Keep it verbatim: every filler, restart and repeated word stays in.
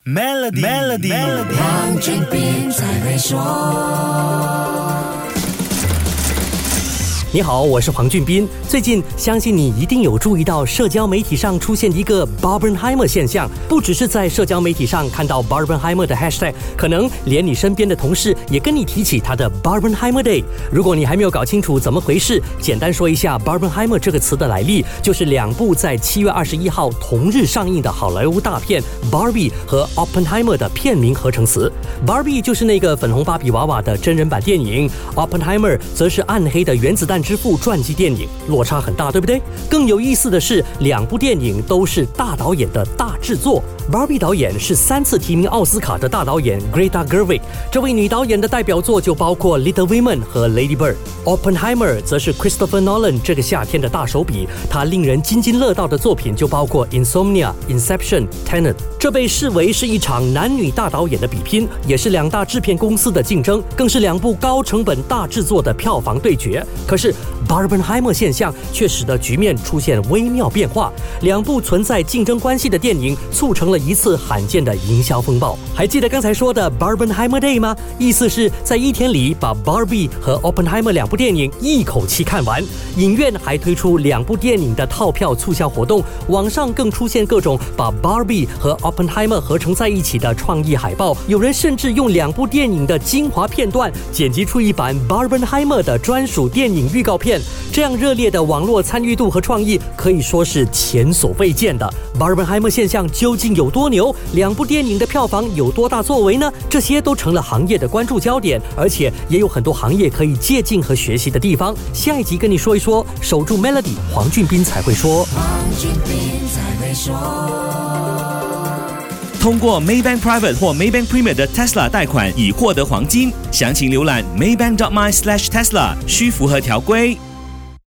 Melody Melody， 黄俊斌才会说。 你好，我是黄俊斌。最近相信你一定有注意到社交媒体上出现一个 Barbenheimer 现象，不只是在社交媒体上看到 Barbenheimer 的 hashtag， 可能连你身边的同事也跟你提起他的 Barbenheimer Day。如果你还没有搞清楚怎么回事，简单说一下 Barbenheimer 这个词的来历，就是两部在七月二十一号同日上映的好莱坞大片 Barbie 和 Oppenheimer 的片名合成词。Barbie 就是那个粉红芭比娃娃的真人版电影， Oppenheimer 则是暗黑的原子弹之父传记电影，落差很大，对不对？更有意思的是，两部电影都是大导演的大制作。Barbie 导演是三次提名奥斯卡的大导演 Greta Gerwig， 这位女导演的代表作就包括 Little Women 和 Lady Bird。Oppenheimer 则是 Christopher Nolan 这个夏天的大手笔，他令人津津乐道的作品就包括 Insomnia、Inception、Tenet。这被视为是一场男女大导演的比拼，也是两大制片公司的竞争，更是两部高成本大制作的票房对决。可是 Barbenheimer 现象却使得局面出现微妙变化，两部存在竞争关系的电影促成了一次罕见的营销风暴。还记得刚才说的 Barbenheimer Day 吗？意思是在一天里把 Barbie 和 Oppenheimer 两部电影一口气看完。影院还推出两部电影的套票促销活动，网上更出现各种把 Barbie 和 Oppenheimer 合成在一起的创意海报，有人甚至用两部电影的精华片段剪辑出一版 Barbenheimer 的专属电影预告片。这样热烈的网络参与度和创意可以说是前所未见的。Barbenheimer 现象究竟有多牛？两部电影的票房有多大作为呢？这些都成了行业的关注焦点，而且也有很多行业可以借鉴和学习的地方。下一集跟你说一说，守住 Melody， 黄俊斌才会说。 黄俊斌才会说。 通过 Maybank Private 或 Maybank Premier 的 Tesla 贷款已获得黄金，详情浏览 maybank dot my slash tesla， 需符合条规。